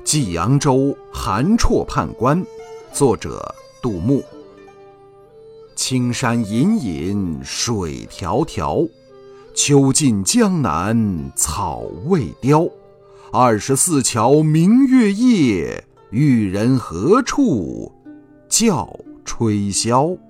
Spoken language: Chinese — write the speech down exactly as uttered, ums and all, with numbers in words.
济阳州韩绰判官，作者杜牧。青山隐隐水迢迢，秋尽江南草未凋。二十四桥明月夜，玉人何处教吹箫。